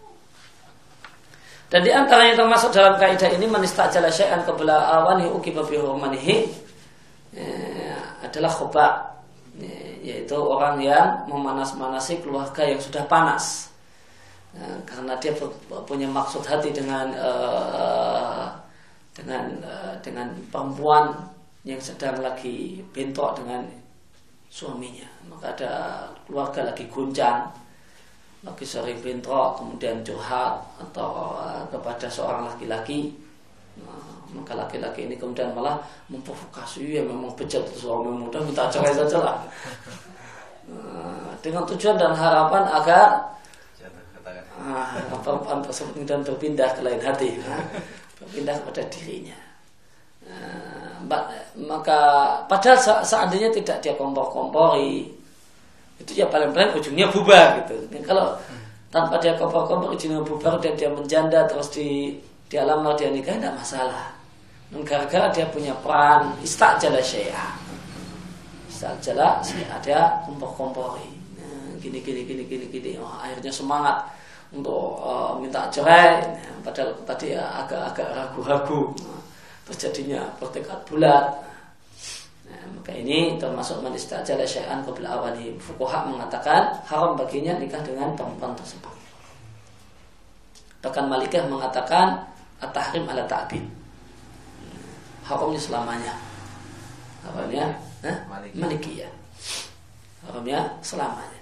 Dan di antaranya termasuk dalam kaidah ini manistajala syai'an qabla awanihi uqiba bi hurmanihi, ya, adalah khoba, yaitu orang yang memanas-manasi keluarga yang sudah panas, nah, karena dia punya maksud hati dengan uh, dengan uh, dengan perempuan yang sedang lagi bentrok dengan suaminya. Maka ada keluarga lagi guncang, lagi sering bentrok, kemudian curhat atau uh, kepada seorang laki-laki, nah, Maka laki-laki ini kemudian malah memprovokasi, ya memang bejat suami muda, minta cerai saja lah. Nah, dengan tujuan dan harapan agar ah, perempuan tersebut kemudian berpindah ke lain hati, nah, berpindah kepada dirinya. Nah, maka padahal seandainya tidak dia kompor-kompori, itu ya paling-paling ujungnya bubar gitu. Dan kalau tanpa dia kompor-kompor ujungnya bubar dan dia menjanda terus di dia lamar dia nikah, tidak masalah. Dan gara-gara dia punya peran istajala syai'a, istajala syai'a, dia kompor-kompori, nah, gini gini gini gini gini, oh, akhirnya semangat untuk uh, minta cerai, nah, padahal tadi ya, agak-agak ragu-ragu, nah, terus jadinya bertekad bulat. Nah, maka ini termasuk man istajala syai'an qabla awanihi. Fuqaha mengatakan haram baginya nikah dengan perempuan tersebut. Bahkan Malikiyah mengatakan at-tahrim ala ta'bid, haramnya selamanya. Haramnya eh? Malikiyah, haramnya selamanya.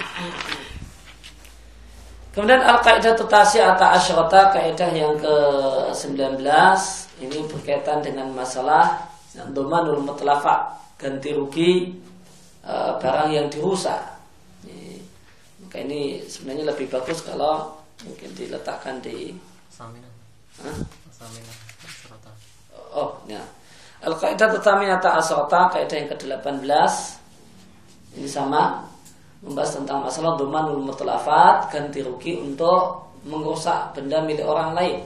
Kemudian al-qaidah tasi'ata asyrata, kaidah yang ke sembilan belas, ini berkaitan dengan masalah dhamanul mutlafa, ganti rugi e, barang yang dirusak. Ini, maka ini sebenarnya lebih bagus kalau mungkin diletakkan di Samina. Hah? Samina asyrata. Oh, ya. Al-qaidah tsaminata asyrata, kaidah yang ke delapan belas. Ini sama, membahas tentang masalah dhamanul mutlafat, ganti rugi untuk merusak benda milik orang lain.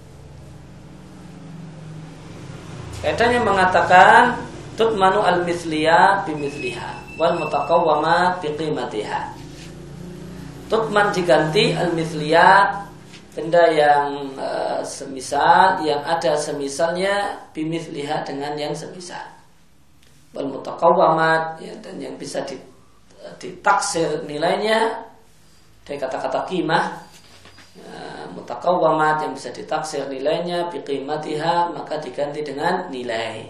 Kaidahnya mengatakan tutmanu al-mithliyat bimithliha wal mutaqawwamat biqimatiha. Tutman diganti al-mithliyat, benda yang e, semisal, yang ada semisalnya, bimithliha, dengan yang semisal. Wal mutaqawwamat, ya, dan yang bisa di ditaksir nilainya dari kata-kata qimah, ya, mutaqawwamat yang bisa ditaksir nilainya biqimatiha, maka diganti dengan nilai.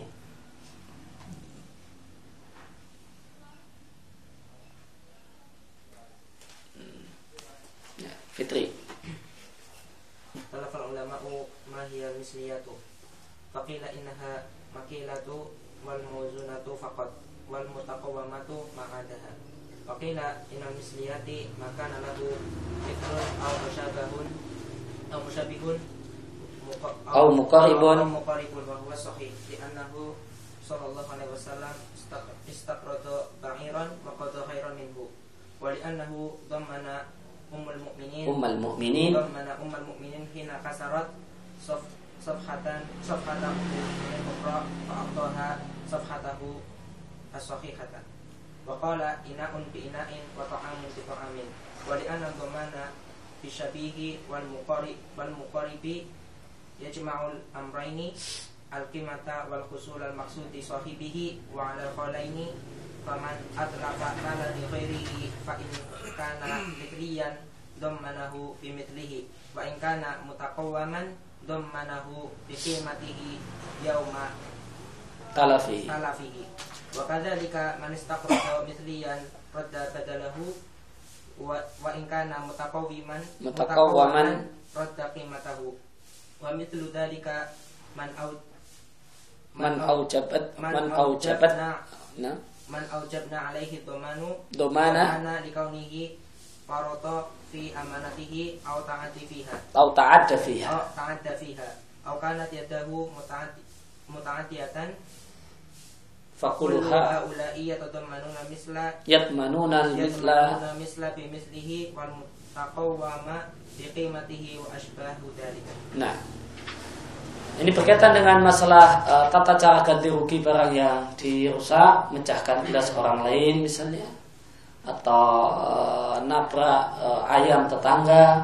Ya, Fitri. Talafal ulama'u ma hiya misliyatu. Faqila innaha makilatu wal mawzunatu faqat wal mutaqawwamatu ma'adaha. Faqila inal misliyati maka nalahu mithlun aw musyabahun aw musyabihun aw muqaribun aw muqaribun wa huwa sahih li annahu sallallahu alaihi wasallam istaqrada ba'iran wa qada khairan minhu wa li annahu dhammana ummul mu'minin ummul mu'minin dhammana ummul mu'minin hina kasarat saf safhatan safhatahu min ukhra fa aqtaha safhatahu as-sahihatan. Wa qala ina'un bi ina'in wa ta'amun bi ta'amin. Wa li anna dhamana bi syabihi wal muqarib wal muqaribi yajma'ul amrayni al-qimata wal husul al-maqsudi sahibihi wa 'ala qalaini faman adlafa mala li ghairihi fa in kana mithliyan dhammanahu bi mithlihi wa in kana mutaqawwaman dhammanahu bi qimatihi yauma talafihi talafihi. Wa kadzalika man istaqrada mithliyan radda badalahu wa wa in kana mutaqawwiman mutaqawwaman radda qimatahu wa mithlu dzalika man au man aujabat man aujabat nah man aujabna alaihi dhamanu dhamana likaunihi farata fi amanatihi aw ta'addi fiha aw ta'adda fiha aw ta'adda fiha aw kanat yadahu muta'addi muta'addiyatan faquluha ulaiya tadammanuna misla yatmanuna misla misla bi mislihi wal mutaqawwama bi qimatihi wa ashbahu dzalika. Nah, ini berkaitan dengan masalah uh, tata cara ganti rugi barang yang dirusak, mecahkan gelas orang lain misalnya, atau uh, nabrak uh, ayam tetangga.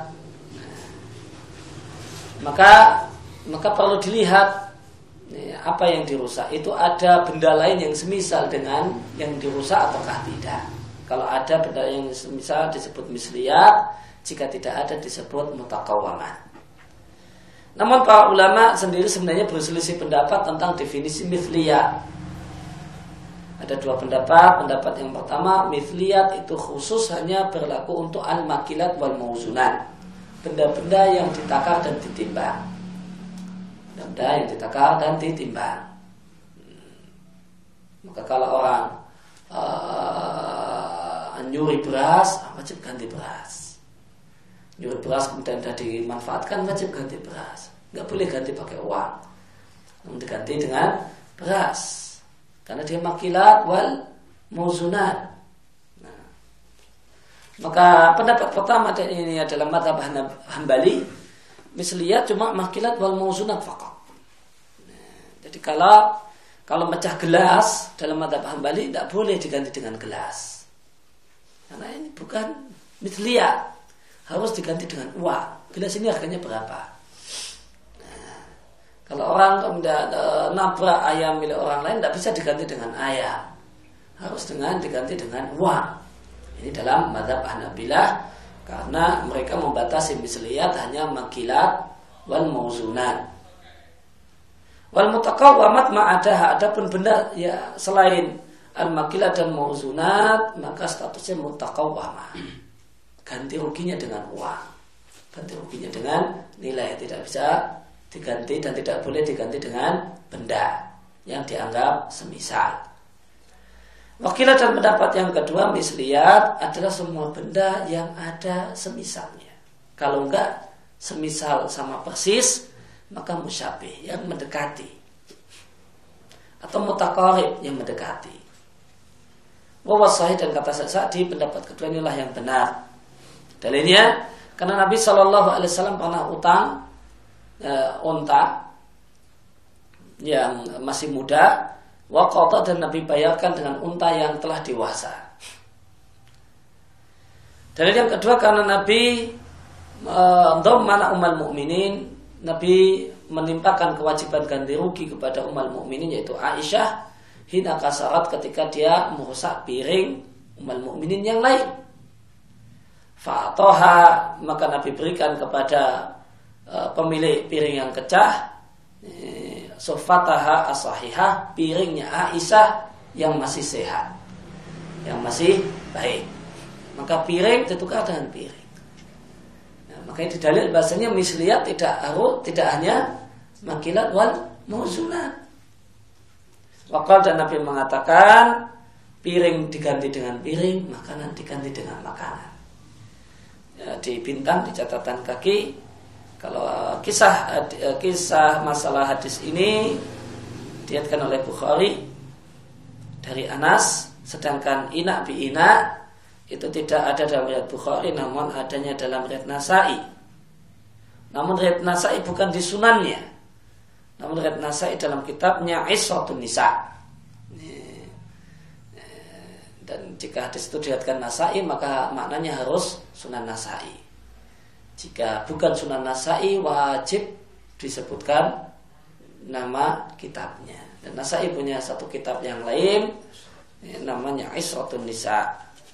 Maka maka perlu dilihat apa yang dirusak itu ada benda lain yang semisal dengan yang dirusak ataukah tidak. Kalau ada benda yang semisal disebut misliyat, jika tidak ada disebut mutaqawwaman. Namun para ulama sendiri sebenarnya berselisih pendapat tentang definisi misliyat. Ada dua pendapat. Pendapat yang pertama, misliyat itu khusus hanya berlaku untuk al-makilat wal mauzunat, benda-benda yang ditakar dan ditimbang. benda yang ditakar dan ditimbang. Maka kalau orang uh, nyuri beras, wajib ganti beras. Nyuri beras kemudian sudah dimanfaatkan, wajib ganti beras. Nggak boleh ganti pakai uang, namun diganti dengan beras, karena dia makilat wal mauzunat. Nah, maka pendapat pertama dan ini adalah mazhab Hambali, misliyat cuma makilat wal mauzunat faqat. Nah, jadi kalau kalau mecah gelas dalam mazhab Hambali tidak boleh diganti dengan gelas, karena ini bukan misliyat, harus diganti dengan uang. Gelas ini harganya berapa? Kalau orang kemudian e, nabrak ayam milik orang lain, tidak bisa diganti dengan ayam, harus dengan diganti dengan uang. Ini dalam mazhab Hanabilah, karena mereka membatasi misliyat hanya makilat wal mauzunat. Wal mutaqawwamat ma'adaha, adapun benda ya selain al makilat dan mauzunat, maka statusnya mutaqawwamah, ganti ruginya dengan uang, ganti ruginya dengan nilai, tidak bisa diganti dan tidak boleh diganti dengan benda yang dianggap semisal. Wakilah dan pendapat yang kedua, misliyat adalah semua benda yang ada semisalnya. Kalau enggak semisal sama persis, maka musyabih yang mendekati, atau mutaqarib yang mendekati. Wa wasahih, dan kata Sa'di pendapat kedua inilah yang benar. Dalilnya karena Nabi shallallahu alaihi wasallam pernah utang Uh, unta yang masih muda, waqata, dan Nabi bayarkan dengan unta yang telah dewasa. Dalil yang kedua karena Nabi dhammana uh, ummul mukminin, Nabi menimpakan kewajiban ganti rugi kepada ummul mukminin yaitu Aisyah hina kasarat, ketika dia merusak piring ummul mukminin yang lain. Fa'atoha, maka Nabi berikan kepada pemilik piring yang pecah, sofataha asahihah, piringnya Aisyah yang masih sehat, yang masih baik, maka piring ditukar dengan piring. Nah, makanya di dalil bahasanya misliyat tidak harus, tidak hanya makilat wal mauzunat. Wakal, dan Nabi mengatakan piring diganti dengan piring, makanan diganti dengan makanan. Ya, di bintang, di catatan kaki, kalau kisah kisah masalah hadis ini diriwayatkan oleh Bukhari dari Anas, sedangkan ina bi ina itu tidak ada dalam riwayat Bukhari, namun adanya dalam riwayat Nasa'i. Namun riwayat Nasa'i bukan di sunannya, namun riwayat Nasa'i dalam kitabnya Isratun Nisa. Dan jika hadis itu diriwayatkan Nasa'i, maka maknanya harus Sunan Nasa'i. Jika bukan Sunan Nasa'i, wajib disebutkan nama kitabnya. Dan Nasa'i punya satu kitab yang lain, ya, namanya Isratun Nisa.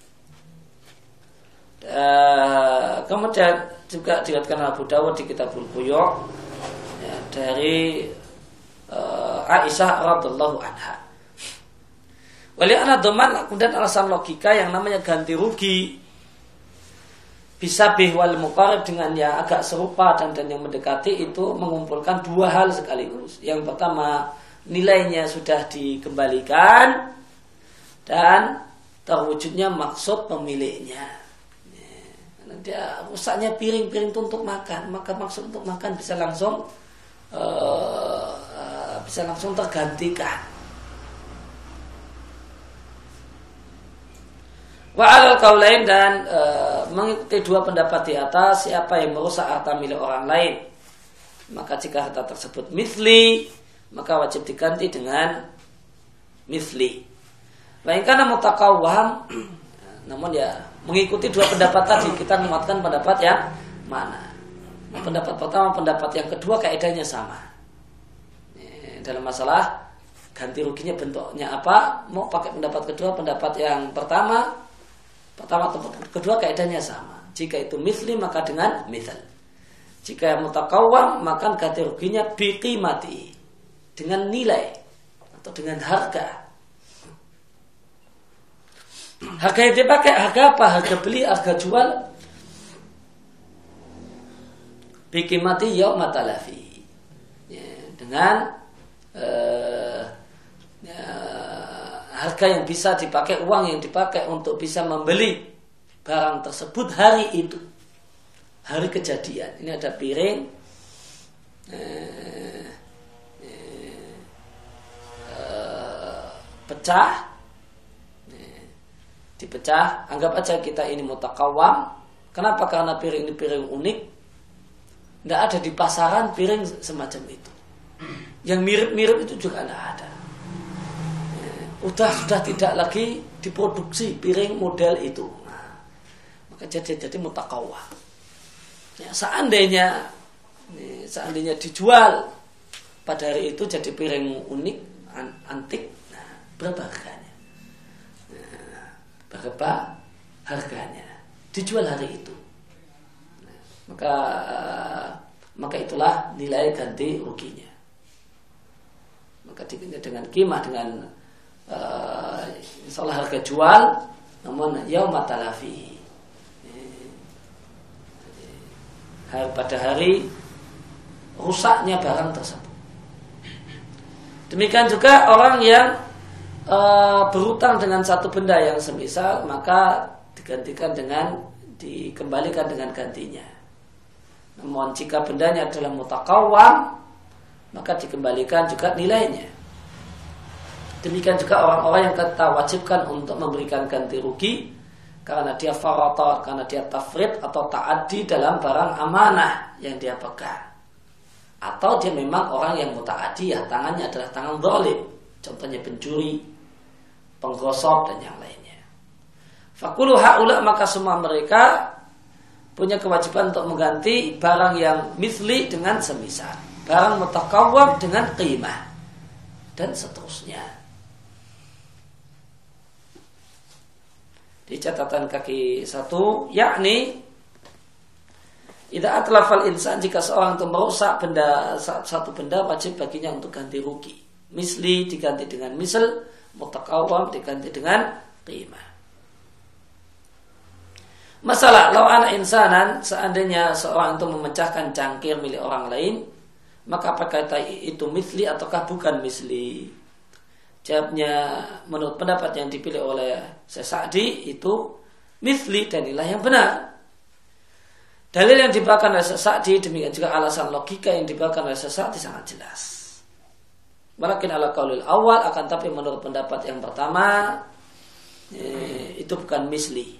Uh, kemudian juga diriwayatkan Abu Dawud di Kitabul Buyu' ya, dari uh, Aisyah radhiyallahu anha. Wali ana dhaman, kemudian alasan logika yang namanya ganti rugi bisa bih wal muqarib, dengan yang agak serupa dan, dan yang mendekati, itu mengumpulkan dua hal sekaligus. Yang pertama, nilainya sudah dikembalikan dan terwujudnya maksud pemiliknya. Karena dia rusaknya piring-piring itu untuk makan, maka maksud untuk makan bisa langsung uh, uh, bisa langsung tergantikan. Wa alal qaulain, dan e, mengikuti dua pendapat di atas, siapa yang merusak harta milik orang lain, maka jika harta tersebut mithli, maka wajib diganti dengan mithli. Wa in kana mutaqawwam, namun ya mengikuti dua pendapat tadi, kita menguatkan pendapat yang mana? Pendapat pertama, pendapat yang kedua kaidahnya sama. Dalam masalah ganti ruginya bentuknya apa, mau pakai pendapat kedua, pendapat yang pertama Pertama atau kedua kaidahnya sama. Jika itu mithli, maka dengan mithal. Jika mutaqawwam, maka ganti ruginya biqimati, dengan nilai atau dengan harga. Harga yang dipakai harga apa? Harga beli, harga jual. Biqimati yauma talafi. Ya, dengan uh, ya, harga yang bisa dipakai, uang yang dipakai untuk bisa membeli barang tersebut hari itu, hari kejadian. Ini ada piring uh, uh, pecah, dipecah, anggap aja kita ini mutakawam. Kenapa? Karena piring ini piring unik, tidak ada di pasaran piring semacam itu. Yang mirip-mirip itu juga tidak ada. Udah sudah tidak lagi diproduksi piring model itu. Nah, maka jadi jadi mutakawam. Ya, seandainya seandainya dijual pada hari itu jadi piring unik, antik, nah, berapa harganya? Berapa harganya dijual hari itu, nah, maka maka itulah nilai ganti ruginya. Maka dengan kimah, dengan uh, insyaallah harga jual, namun yauma talafi, pada hari rusaknya barang tersebut. Demikian juga orang yang E, berutang dengan satu benda yang semisal, maka digantikan dengan dikembalikan dengan gantinya. Namun jika bendanya adalah mutakawam, maka dikembalikan juga nilainya. Demikian juga orang-orang yang kita wajibkan untuk memberikan ganti rugi karena dia farata, karena dia tafrid atau ta'addi dalam barang amanah yang dia pegang, atau dia memang orang yang muta'addi, ya tangannya adalah tangan zalim, contohnya pencuri, penggosok dan yang lainnya. Fakulu haula, maka semua mereka punya kewajiban untuk mengganti barang yang misli dengan semisal, barang mutakawwam dengan qimah, dan seterusnya. Di catatan kaki satu, yakni idza atlafal insan, jika seorang itu merusak benda, satu benda, wajib baginya untuk ganti rugi. Misli diganti dengan misl, mutakawwam diganti dengan qimah. Masalah, lau ana insanan, seandainya seorang itu memecahkan cangkir milik orang lain, maka apakah itu misli ataukah bukan misli? Jawabnya, menurut pendapat yang dipilih oleh Syekh Sa'di, itu misli dan inilah yang benar. Dalil yang dibawakan oleh Syekh Sa'di, demikian juga alasan logika yang dibawakan oleh Syekh Sa'di sangat jelas. Walakin ala qaulil awal, akan tapi menurut pendapat yang pertama, eh, itu bukan misli.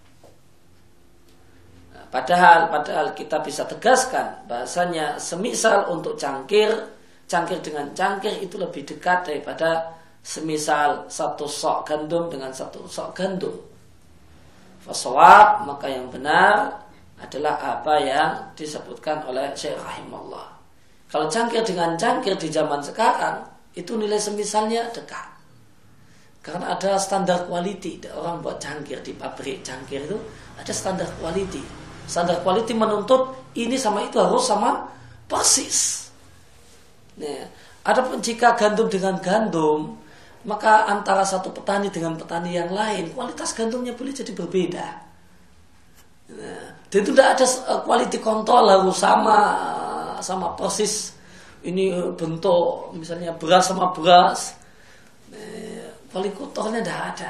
Nah, padahal padahal kita bisa tegaskan bahasanya semisal untuk cangkir, cangkir dengan cangkir itu lebih dekat daripada semisal satu sok gandum dengan satu sok gandum. Fasawab, maka yang benar adalah apa yang disebutkan oleh Syekh rahimahullah. Kalau cangkir dengan cangkir di zaman sekarang, itu nilai semisalnya dekat. Karena ada standar quality. Orang buat cangkir di pabrik cangkir itu ada standar quality. Standar quality menuntut ini sama itu harus sama persis. Nah, adapun jika gandum dengan gandum, maka antara satu petani dengan petani yang lain, kualitas gandumnya boleh jadi berbeda. Nah, dan itu tidak ada quality control harus sama sama persis. Ini bentuk misalnya beras sama beras, kualitasnya tidak ada,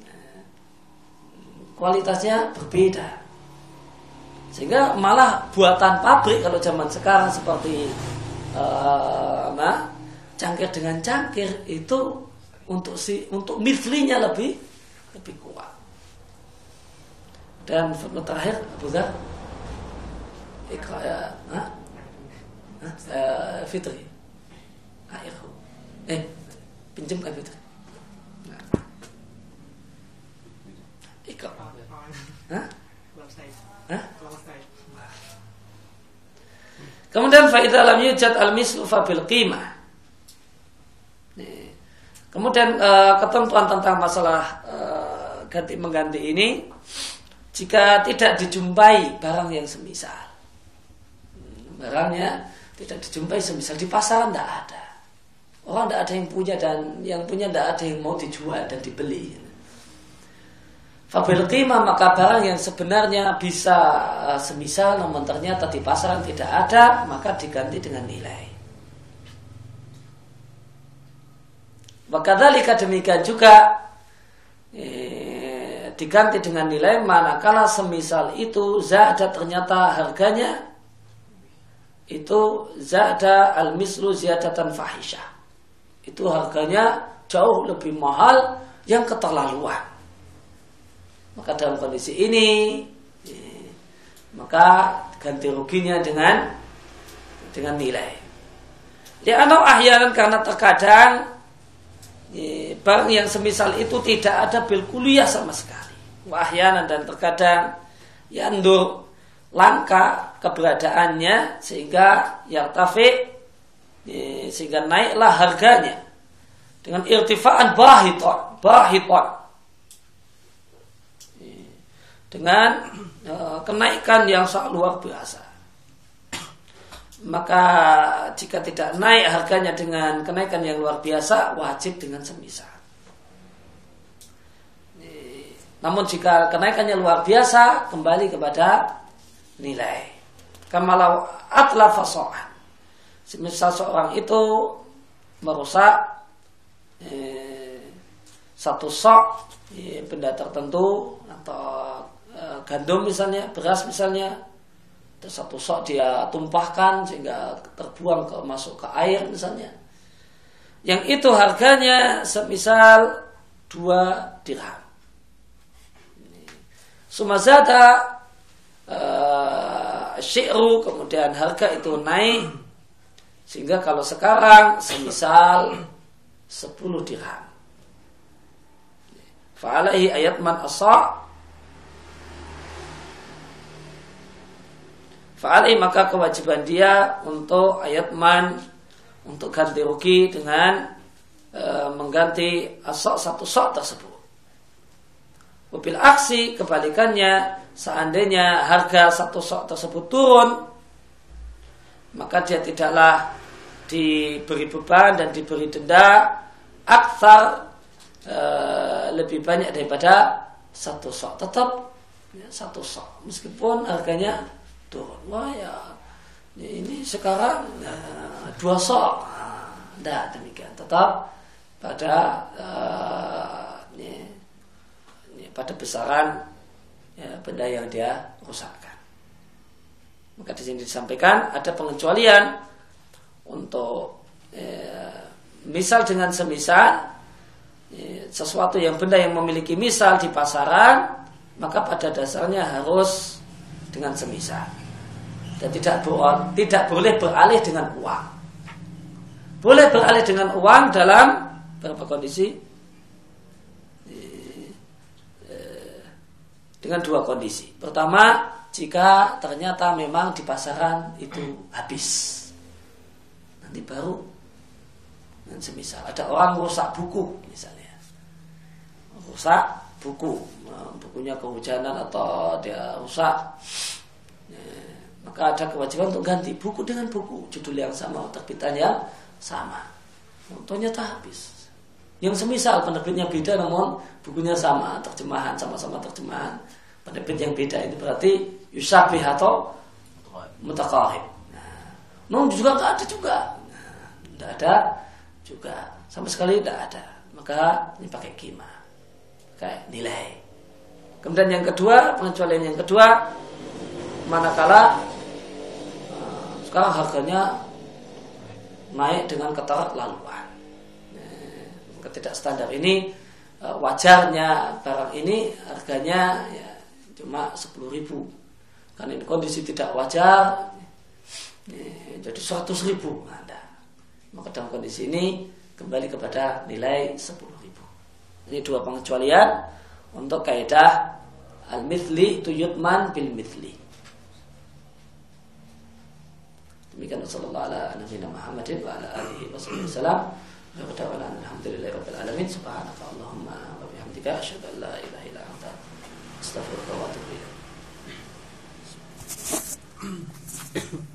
kualitasnya berbeda, sehingga malah buatan pabrik kalau zaman sekarang seperti uh, nah, cangkir dengan cangkir itu untuk si untuk mislinya lebih lebih kuat. Dan terakhir Abu Dzar, ikra ya, nah? Uh, Fitri, airku, eh pinjamkan Fitri. Nah. Ikut, hah? Hah? Kemudian faida lam yujad al mislu fa bil qimah. Kemudian uh, ketentuan tentang masalah uh, ganti mengganti ini, jika tidak dijumpai barang yang semisal, barangnya tidak dijumpai semisal di pasaran, tidak ada. Orang tidak ada yang punya dan yang punya tidak ada yang mau dijual dan dibeli. Fabil qimah, maka barang yang sebenarnya bisa uh, semisal namun ternyata di pasaran tidak ada, maka diganti dengan nilai. Wakadzalika demikian juga eh, diganti dengan nilai manakala semisal itu zada ternyata harganya itu zada al-mislu ziyadatan fahisyah. Itu harganya jauh lebih mahal yang keterlaluan. Maka dalam kondisi ini eh, maka ganti ruginya dengan dengan nilai. Li'anau ahyanan karena terkadang eh, barang yang semisal itu tidak ada bil kuliah sama sekali. Wa ahyanan dan terkadang yandur langka keberadaannya sehingga yartafi eh, sehingga naiklah harganya dengan irtifaan bahiton bahiton eh, dengan eh, kenaikan yang sangat luar biasa. Maka jika tidak naik harganya dengan kenaikan yang luar biasa, wajib dengan semisal. Namun jika kenaikannya luar biasa, kembali kepada nilai. Kamalau atlafa so'an. Semisal seorang itu merusak eh, satu sok eh, benda tertentu atau eh, gandum misalnya, beras misalnya. Satu sok dia tumpahkan sehingga terbuang ke masuk ke air misalnya. Yang itu harganya semisal dua dirham. Sumazada uh, syi'ru kemudian harga itu naik sehingga kalau sekarang semisal sepuluh dirham. Fa'alaihi ayat man asa' Fa'alai maka kewajiban dia untuk ayat man untuk ganti rugi dengan e, mengganti asok satu sok tersebut. Wabil aksi kebalikannya seandainya harga satu sok tersebut turun maka dia tidaklah diberi beban dan diberi denda aktsar e, lebih banyak daripada satu sok. Tetap ya, satu sok meskipun harganya turun. Wah ya ini sekarang uh, dua sok. Nah, demikian tetap pada uh, ini, ini, pada besaran ya, benda yang dia rusakkan. Maka di sini disampaikan ada pengecualian untuk eh, misal dengan semisal eh, sesuatu yang benda yang memiliki misal di pasaran maka pada dasarnya harus dengan semisal. Dan tidak boleh, tidak boleh beralih dengan uang. Boleh beralih dengan uang dalam beberapa kondisi, dengan dua kondisi. Pertama, jika ternyata memang di pasaran itu habis, nanti baru dan semisal. Ada orang rusak buku misalnya, rusak buku, bukunya kehujanan atau dia rusak. Maka ada kewajiban untuk ganti buku dengan buku, judul yang sama, terbitan yang sama. Ternyata habis. Yang semisal penerbitnya beda namun bukunya sama, terjemahan sama-sama terjemahan, penerbit yang beda ini berarti yusabih atau mutaqarib. Nah, namun juga nggak ada juga, nggak nah, ada juga, sama sekali nggak ada. Maka ini pakai kima, kayak nilai. Kemudian yang kedua, pengecualian yang kedua, manakala sekarang harganya naik dengan keterlaluan. Ketidak standar ini wajarnya barang ini harganya ya, cuma sepuluh ribu. Karena ini kondisi tidak wajar ya, jadi seratus ribu. Nah, maka dalam kondisi ini kembali kepada nilai sepuluh ribu. Ini dua pengecualian untuk kaidah al-mithli itu yutman bil mithli. Demikian sallallahu ala nabiyina Muhammadin wa ala alihi wasallam. Wa ta'ala alhamdulillahirabbil alamin. Subhanaka Allahumma wa bihamdika asyhadu an la ilaha illa anta astaghfiruka wa atubu ilaik.